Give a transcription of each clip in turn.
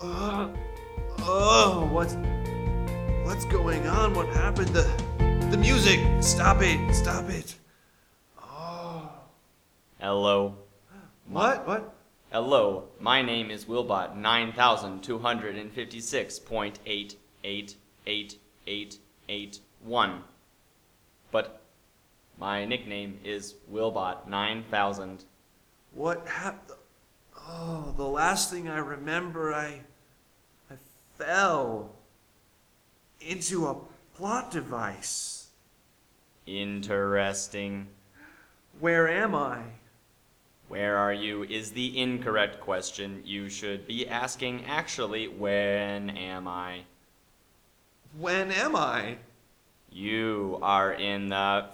What's going on? What happened? The music. Stop it. Oh. Hello. What? Hello. My name is Wilbot 9256.888881. But my nickname is Wilbot 9000. What happened? Oh, the last thing I remember, I fell into a plot device. Interesting. Where am I? Where are you is the incorrect question. You should be asking actually, when am I? When am I? You are in the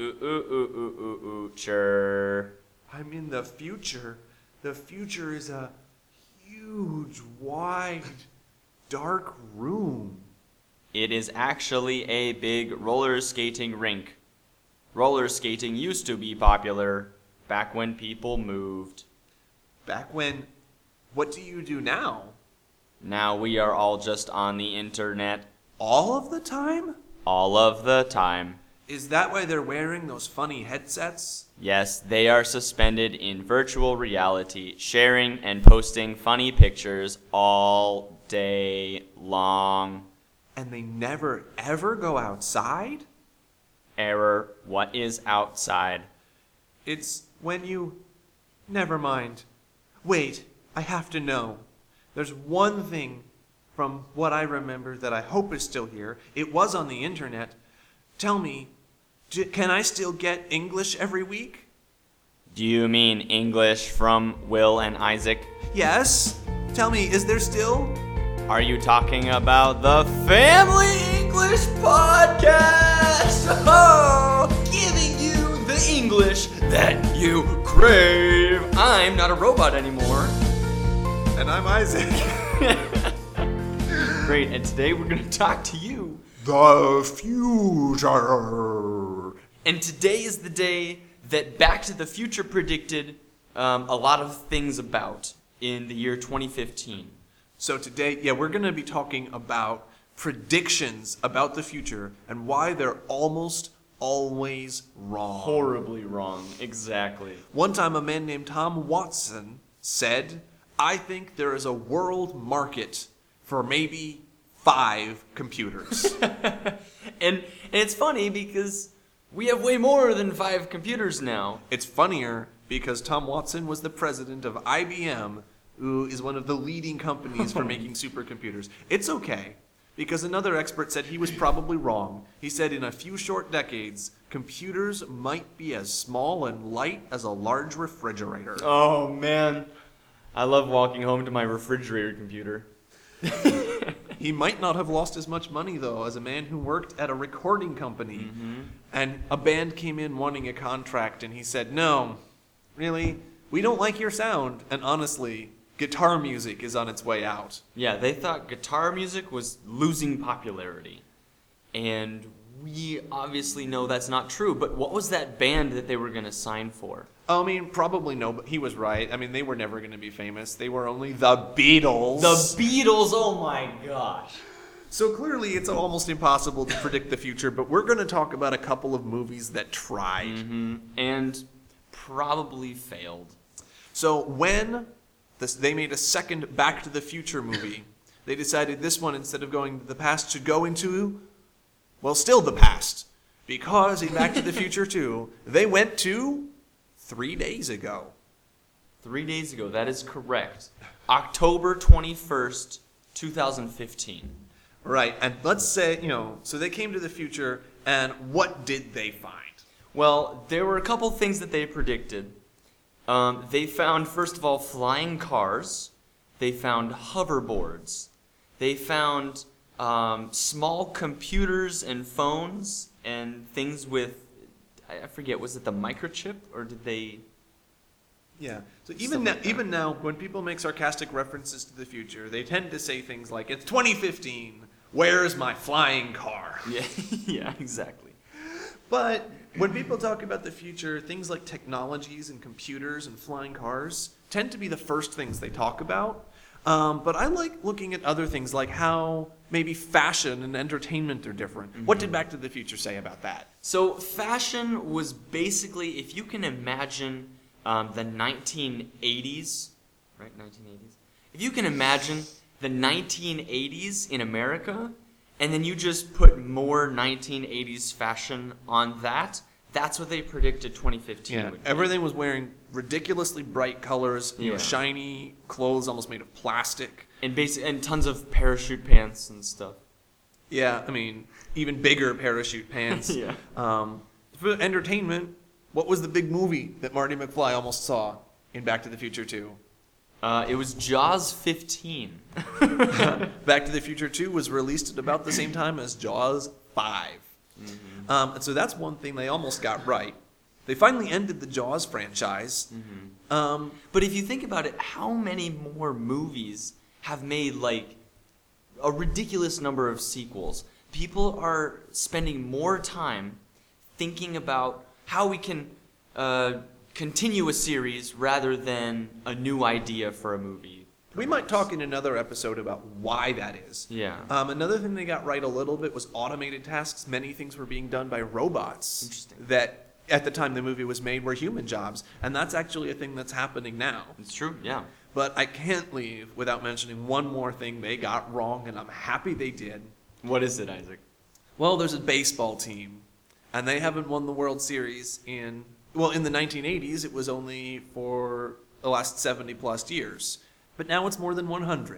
future. I'm in the future. The future is a huge, wide, dark room. It is actually a big roller skating rink. Roller skating used to be popular back when people moved. Back when? What do you do now? Now we are all just on the internet. All of the time? All of the time. Is that why they're wearing those funny headsets? Yes, they are suspended in virtual reality, sharing and posting funny pictures all day long. And they never, ever go outside? Error. What is outside? It's when you... Never mind. Wait, I have to know. There's one thing from what I remember that I hope is still here. It was on the internet. Tell me, can I still get English every week? Do you mean English from Will and Isaac? Yes. Tell me, is there still? Are you talking about the Family English Podcast? Oh, giving you the English that you crave. I'm not a robot anymore. And I'm Isaac. Great, and today we're going to talk to you. The future. And today is the day that Back to the Future predicted a lot of things about in the year 2015. So today, we're going to be talking about predictions about the future and why they're almost always wrong. Horribly wrong, exactly. One time a man named Tom Watson said, I think there is a world market for maybe 5 computers. And it's funny because we have way more than 5 computers now. It's funnier because Tom Watson was the president of IBM, who is one of the leading companies for making supercomputers. It's okay, because another expert said he was probably wrong. He said in a few short decades, computers might be as small and light as a large refrigerator. Oh, man. I love walking home to my refrigerator computer. He might not have lost as much money, though, as a man who worked at a recording company. Mm-hmm. And a band came in wanting a contract, and he said, no, really, we don't like your sound. And honestly, guitar music is on its way out. Yeah, they thought guitar music was losing popularity. And we obviously know that's not true. But what was that band that they were going to sign for? I mean, probably no, but he was right. I mean, they were never going to be famous. They were only the Beatles. The Beatles, oh my gosh. So clearly it's almost impossible to predict the future, but we're going to talk about a couple of movies that tried. Mm-hmm. And probably failed. So when they made a second Back to the Future movie, they decided this one, instead of going to the past, should go into, well, still the past. Because in Back to the Future 2, they went to 3 days ago. 3 days ago, that is correct. October 21st, 2015. Right, and let's say, so they came to the future, and what did they find? Well, there were a couple things that they predicted. They found, first of all, flying cars. They found hoverboards. They found small computers and phones and things with, I forget, was it the microchip, or did they... Yeah, so even now, when people make sarcastic references to the future, they tend to say things like, it's 2015, where's my flying car? Yeah, yeah, exactly. But when people talk about the future, things like technologies and computers and flying cars tend to be the first things they talk about. But I like looking at other things like how maybe fashion and entertainment are different. Mm-hmm. What did Back to the Future say about that? So fashion was basically, if you can imagine the 1980s, right? 1980s. If you can imagine the 1980s in America, and then you just put more 1980s fashion on that, that's what they predicted 2015 Yeah, would be. everything was wearing ridiculously bright colors, Yeah. shiny clothes almost made of plastic. And tons of parachute pants and stuff. Yeah, I mean, even bigger parachute pants. Yeah. For entertainment, what was the big movie that Marty McFly almost saw in Back to the Future 2? It was Jaws 15. Back to the Future 2 was released at about the same time as Jaws 5. Mm-hmm. And so that's one thing they almost got right. They finally ended the Jaws franchise. Mm-hmm. But if you think about it, how many more movies have made like a ridiculous number of sequels? People are spending more time thinking about how we can continue a series rather than a new idea for a movie. We might talk in another episode about why that is. Yeah. Another thing they got right a little bit was automated tasks. Many things were being done by robots. Interesting. That at the time the movie was made were human jobs. And that's actually a thing that's happening now. It's true, yeah. But I can't leave without mentioning one more thing they got wrong, and I'm happy they did. What is it, Isaac? Well, there's a baseball team, and they haven't won the World Series in the 1980s, it was only for the last 70-plus years. But now it's more than 100.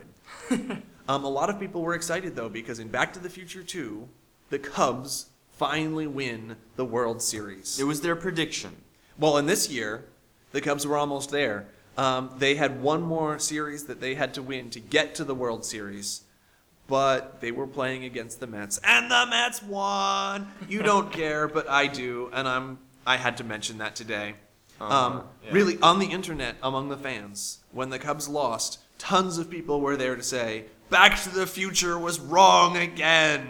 A lot of people were excited, though, because in Back to the Future 2, the Cubs finally win the World Series. It was their prediction. Well, in this year, the Cubs were almost there. They had one more series that they had to win to get to the World Series, but they were playing against the Mets, and the Mets won! You don't care, but I do, and I had to mention that today. Yeah. Really, on the internet, among the fans, when the Cubs lost, tons of people were there to say, Back to the Future was wrong again!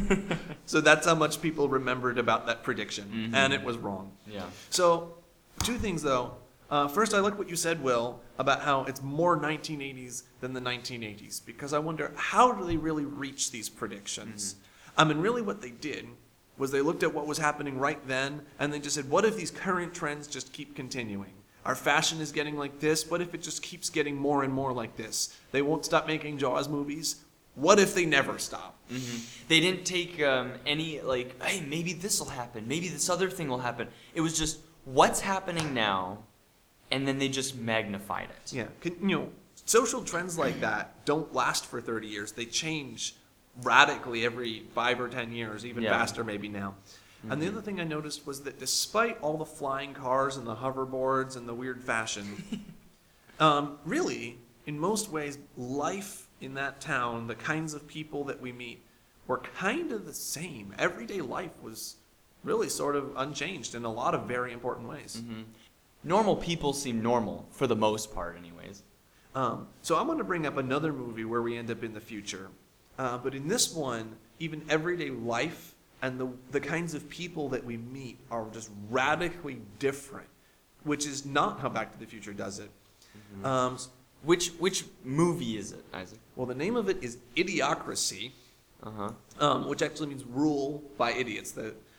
So that's how much people remembered about that prediction, and it was wrong. Yeah. So, two things though. First, I like what you said, Will, about how it's more 1980s than the 1980s, because I wonder, how do they really reach these predictions? I mean, really what they did was they looked at what was happening right then, and they just said, what if these current trends just keep continuing? Our fashion is getting like this. What if it just keeps getting more and more like this? They won't stop making Jaws movies. What if they never stop? Mm-hmm. They didn't take any, like, hey, maybe this will happen. Maybe this other thing will happen. It was just, what's happening now? And then they just magnified it. Yeah. Social trends like that don't last for 30 years. They change radically every 5 or 10 years, even faster maybe now. Mm-hmm. And the other thing I noticed was that despite all the flying cars and the hoverboards and the weird fashion, really, in most ways, life in that town, the kinds of people that we meet, were kind of the same. Everyday life was really sort of unchanged in a lot of very important ways. Mm-hmm. Normal people seem normal, for the most part anyways. So I'm going to bring up another movie where we end up in the future. But in this one, even everyday life and the kinds of people that we meet are just radically different, which is not how Back to the Future does it. Mm-hmm. Which movie is it, Isaac? Well, the name of it is Idiocracy, which actually means rule by idiots.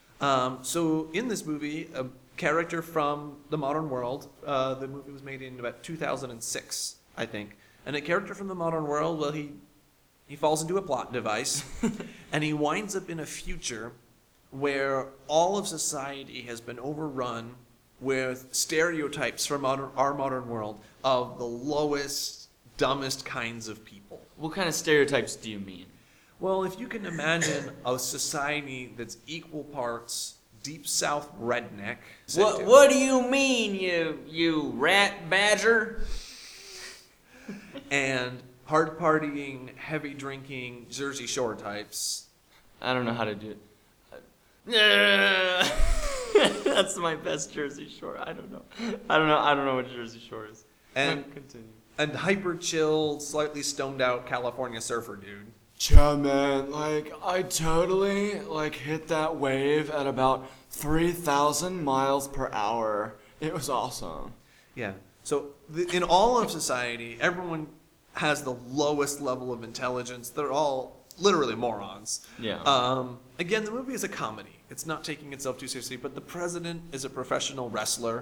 So in this movie, a character from the modern world, the movie was made in about 2006, I think, and a character from the modern world, well, he falls into a plot device, and he winds up in a future where all of society has been overrun with stereotypes from our modern world of the lowest, dumbest kinds of people. What kind of stereotypes do you mean? Well, if you can imagine a society that's equal parts deep south redneck. What do you mean, you rat badger? And hard partying, heavy drinking, Jersey Shore types. I don't know how to do it. That's my best Jersey Shore. I don't know what Jersey Shore is. And continue. And hyper chill, slightly stoned out California surfer dude. Yeah, man, I totally, hit that wave at about 3,000 miles per hour. It was awesome. Yeah. So in all of society, everyone has the lowest level of intelligence. They're all literally morons. Yeah. Again, the movie is a comedy. It's not taking itself too seriously, but the president is a professional wrestler.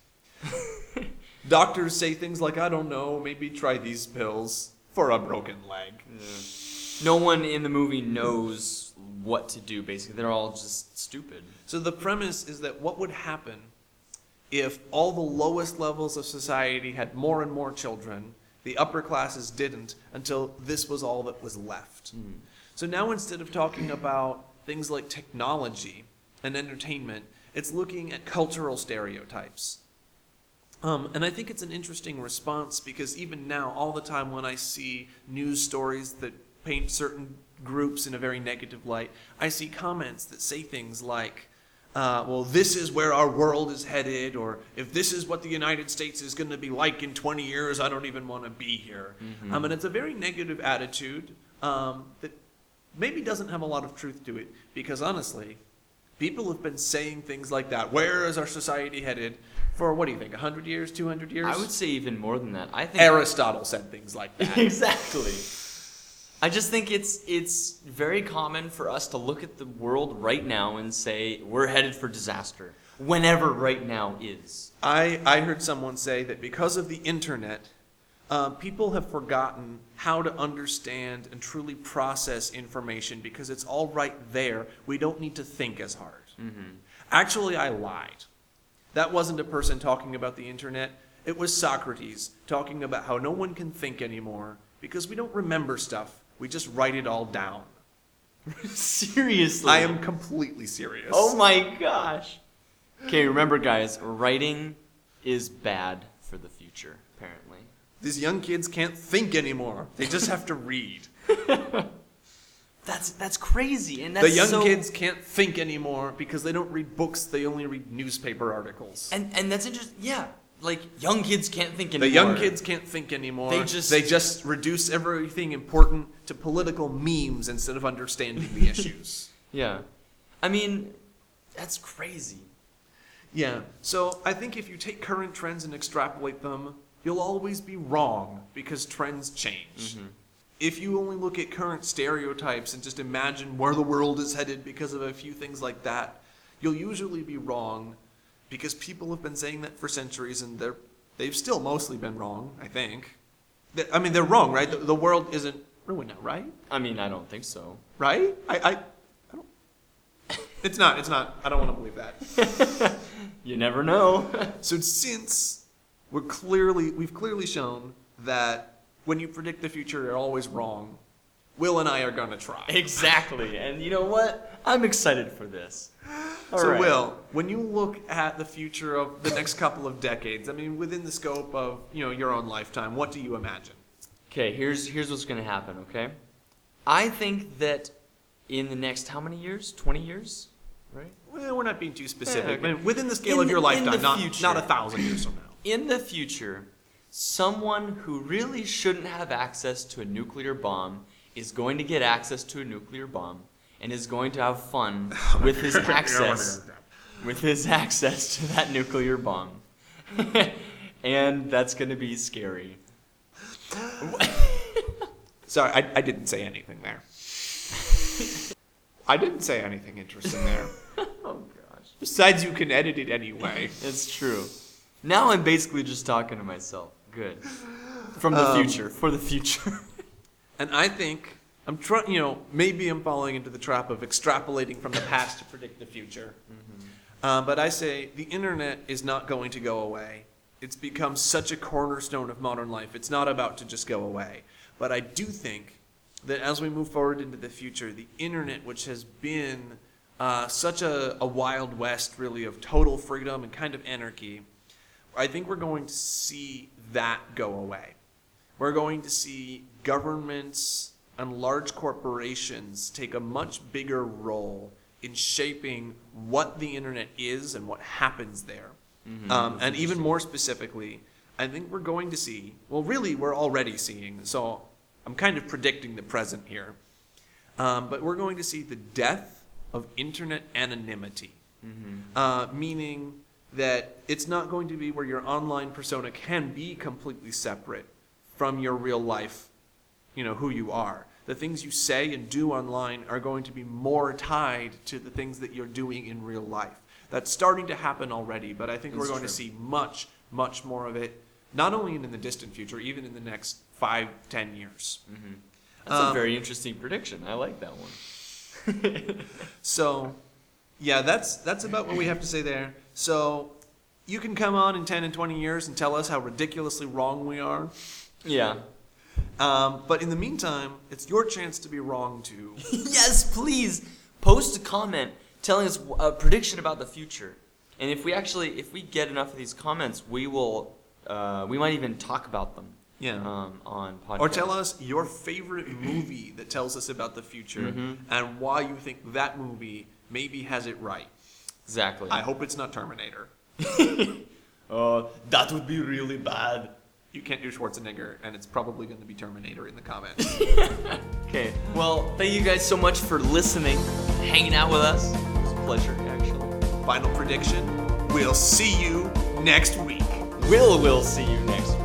Doctors say things like, I don't know, maybe try these pills for a broken leg. No one in the movie knows what to do, basically. They're all just stupid. So the premise is that what would happen if all the lowest levels of society had more and more children, the upper classes didn't, until this was all that was left. So now instead of talking about things like technology and entertainment, it's looking at cultural stereotypes. And I think it's an interesting response because even now, all the time when I see news stories that paint certain groups in a very negative light, I see comments that say things like, well, this is where our world is headed, or if this is what the United States is going to be like in 20 years, I don't even want to be here. And it's a very negative attitude that maybe doesn't have a lot of truth to it, because honestly, people have been saying things like that. Where is our society headed? For, what do you think, 100 years, 200 years? I would say even more than that. I think Aristotle said things like that. Exactly. I just think it's very common for us to look at the world right now and say we're headed for disaster, whenever right now is. I heard someone say that because of the internet, people have forgotten how to understand and truly process information because it's all right there. We don't need to think as hard. Actually, I lied. That wasn't a person talking about the internet. It was Socrates talking about how no one can think anymore because we don't remember stuff. We just write it all down. Seriously? I am completely serious. Oh my gosh. Okay, remember guys, writing is bad for the future, apparently. These young kids can't think anymore. They just have to read. That's crazy, and that's The young kids can't think anymore because they don't read books. They only read newspaper articles. And that's interesting. Yeah, like young kids can't think anymore. The young kids can't think anymore. They just reduce everything important to political memes instead of understanding the issues. Yeah, I mean, that's crazy. Yeah. So I think if you take current trends and extrapolate them, you'll always be wrong because trends change. If you only look at current stereotypes and just imagine where the world is headed because of a few things like that, you'll usually be wrong because people have been saying that for centuries and they've still mostly been wrong, I think. I mean, they're wrong, right? The world isn't ruined now, right? I mean, I don't think so. Right? I don't... It's not. I don't want to believe that. You never know. So since we've clearly shown that when you predict the future, you're always wrong, Will and I are going to try. Exactly. And you know what? I'm excited for this. All right. Will, when you look at the future of the next couple of decades, I mean, within the scope of, your own lifetime, what do you imagine? Okay, here's what's going to happen, okay? I think that in the next, how many years? 20 years? Right? Well, we're not being too specific. Okay. I mean, within the scale of your lifetime, not 1,000 years from now. In the future, someone who really shouldn't have access to a nuclear bomb is going to get access to a nuclear bomb and is going to have fun with his access to that nuclear bomb. And that's going to be scary. Sorry, I didn't say anything there. I didn't say anything interesting there. Oh gosh. Besides, you can edit it anyway. It's true. Now I'm basically just talking to myself. Good. From the future. For the future. And I think I'm trying, maybe I'm falling into the trap of extrapolating from the past to predict the future. But I say the internet is not going to go away. It's become such a cornerstone of modern life. It's not about to just go away. But I do think that as we move forward into the future, the internet, which has been such a wild west, really, of total freedom and kind of anarchy, I think we're going to see that go away. We're going to see governments and large corporations take a much bigger role in shaping what the internet is and what happens there. And even more specifically, I think we're going to see, well, really, we're already seeing, so I'm kind of predicting the present here, but we're going to see the death of internet anonymity, meaning that it's not going to be where your online persona can be completely separate from your real life, who you are. The things you say and do online are going to be more tied to the things that you're doing in real life. That's starting to happen already, but I think we're going to see much, much more of it, not only in the distant future, even in the next 5-10 years. Mm-hmm. That's a very interesting prediction. I like that one. So, yeah, that's about what we have to say there. So, you can come on in 10 and 20 years and tell us how ridiculously wrong we are. Yeah. But in the meantime, it's your chance to be wrong too. Yes, please post a comment telling us a prediction about the future. And if we get enough of these comments, we might even talk about them. Yeah. On podcast. Or tell us your favorite movie that tells us about the future and why you think that movie maybe has it right. Exactly. I hope it's not Terminator. That would be really bad. You can't do Schwarzenegger, and it's probably going to be Terminator in the comments. Okay. Well, thank you guys so much for listening, hanging out with us. It was a pleasure, actually. Final prediction, we'll see you next week. We'll see you next week.